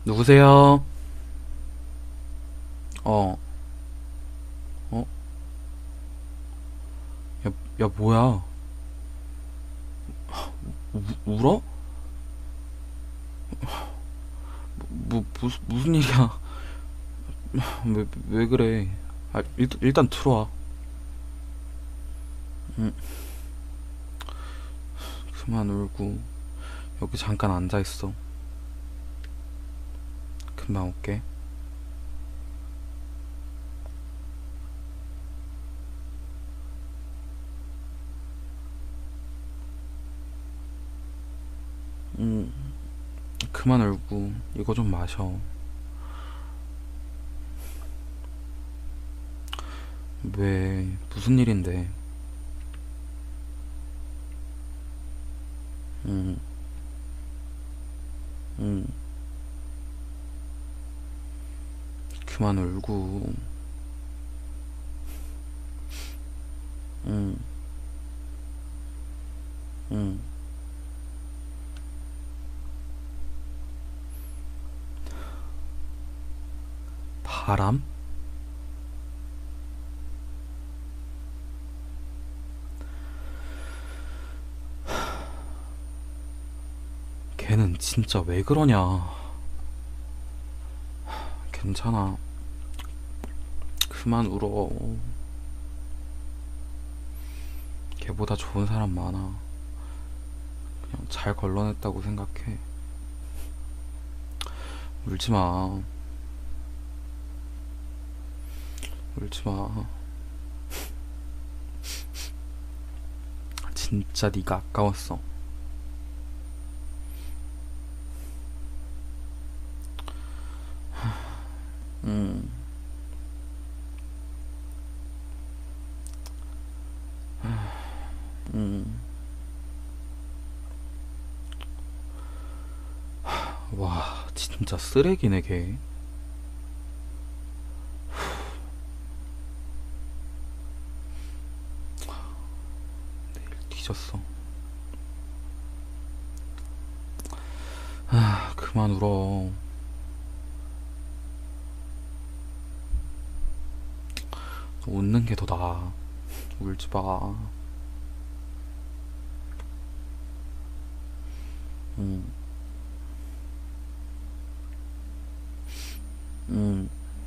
누구세요? 어, 어? 야, 뭐야? 울어? 무슨 일이야? 왜 그래? 일단 들어와. 응, 그만 울고. 여기 잠깐 앉아있어. 금방 올게. 응, 그만 울고. 이거 좀 마셔. 왜, 무슨 일인데? 응, 응, 그만 울고. 응, 응. 바람? 걔는 진짜 왜 그러냐? 괜찮아. 그만 울어. 걔보다 좋은 사람 많아. 그냥 잘 걸러냈다고 생각해. 울지 마. 울지 마. 진짜 네가 아까웠어. 음, 음. 와, 진짜 쓰레기네 걔. 뒤졌어. 아, 그만 울어. 웃는 게 더 나아. 울지 마. 음, 음.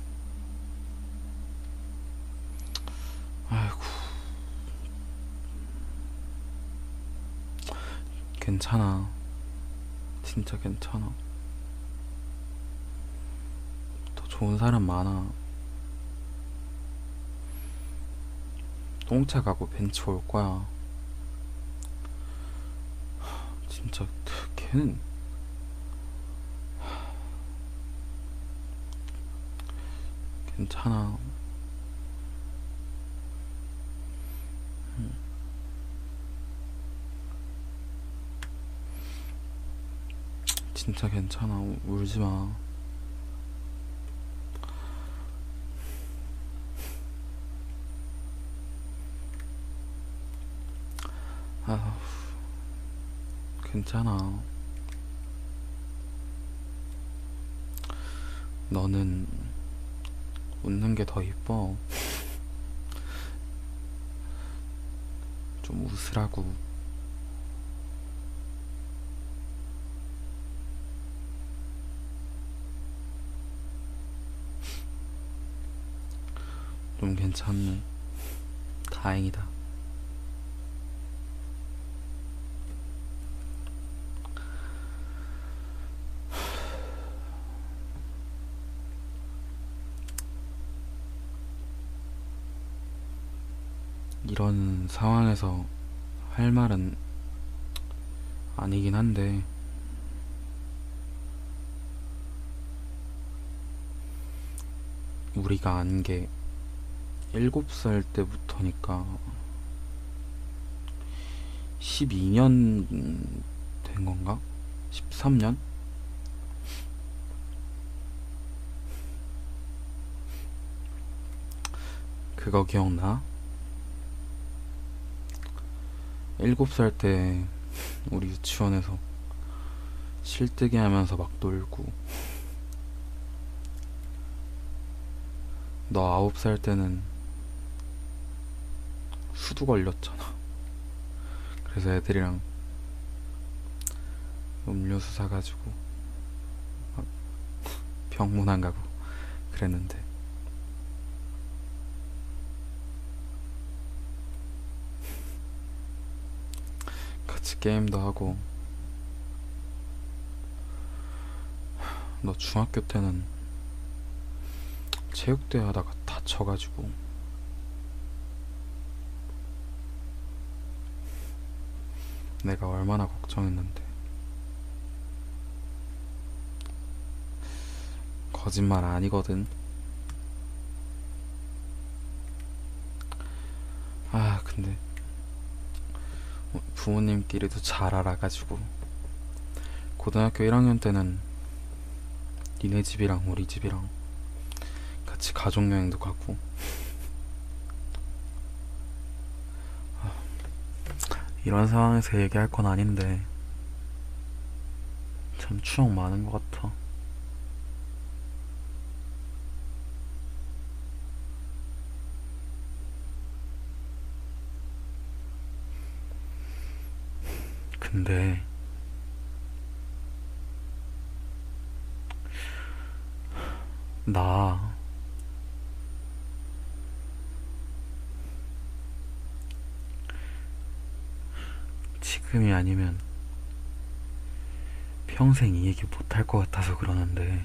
아이고, 괜찮아. 진짜 괜찮아. 더 좋은 사람 많아. 똥차 가고 벤치 올 거야. 진짜 걔는 괜찮아. 진짜 괜찮아. 울지 마. 아, 괜찮아. 너는 웃는 게 더 이뻐. 좀 웃으라고. 좀 괜찮네. 다행이다. 이런 상황에서 할 말은 아니긴 한데, 우리가 안 게 7살 때부터니까 12년 된 건가? 13년? 그거 기억나? 7살 때 우리 유치원에서 실뜨기 하면서 막 놀고, 너 9살 때는 수두 걸렸잖아. 그래서 애들이랑 음료수 사가지고 막 병문 안 가고 그랬는데, 같이 게임도 하고. 너 중학교 때는 체육대회 하다가 다쳐가지고 내가 얼마나 걱정했는데. 거짓말 아니거든. 아, 근데 부모님끼리도 잘 알아가지고 고등학교 1학년 때는 니네 집이랑 우리 집이랑 같이 가족여행도 가고. 이런 상황에서 얘기할 건 아닌데 참 추억 많은 것 같아. 근데 나 지금이 아니면 평생 이 얘기 못할 것 같아서 그러는데,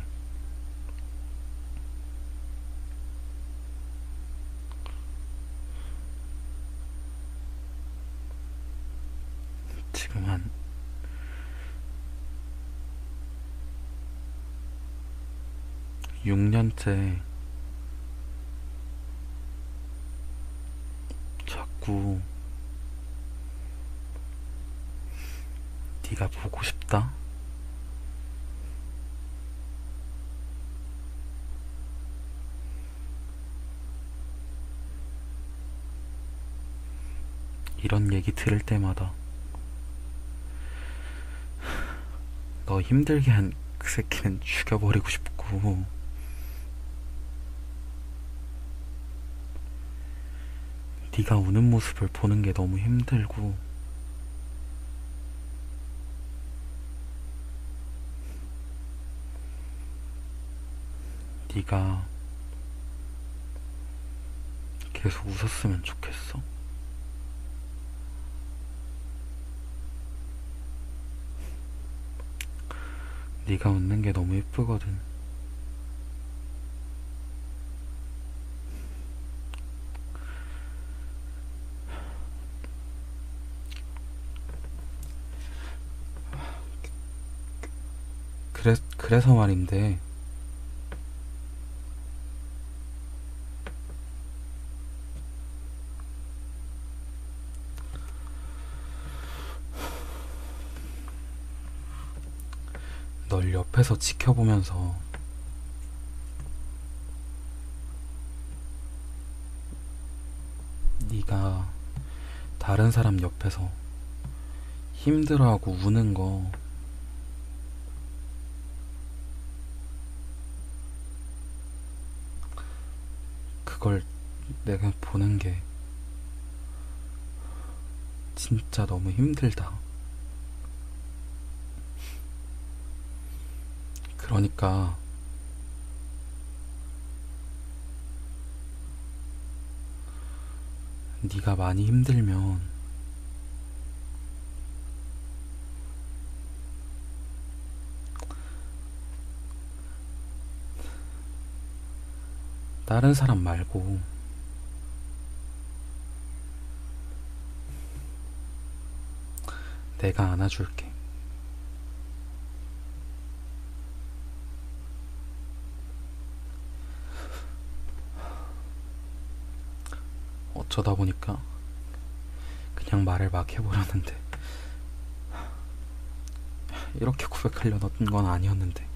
지금 한 6년째 자꾸 네가 보고 싶다? 이런 얘기 들을 때마다 너 힘들게 한 그 새끼는 죽여버리고 싶고, 네가 우는 모습을 보는 게 너무 힘들고, 네가 계속 웃었으면 좋겠어. 네가 웃는 게 너무 예쁘거든. 그래서 말인데, 널 옆에서 지켜보면서 네가 다른 사람 옆에서 힘들어하고 우는 거, 그걸 내가 보는 게 진짜 너무 힘들다. 그러니까 네가 많이 힘들면 다른 사람 말고 내가 안아줄게. 어쩌다 보니까 그냥 말을 막 해버렸는데, 이렇게 고백하려던 건 아니었는데.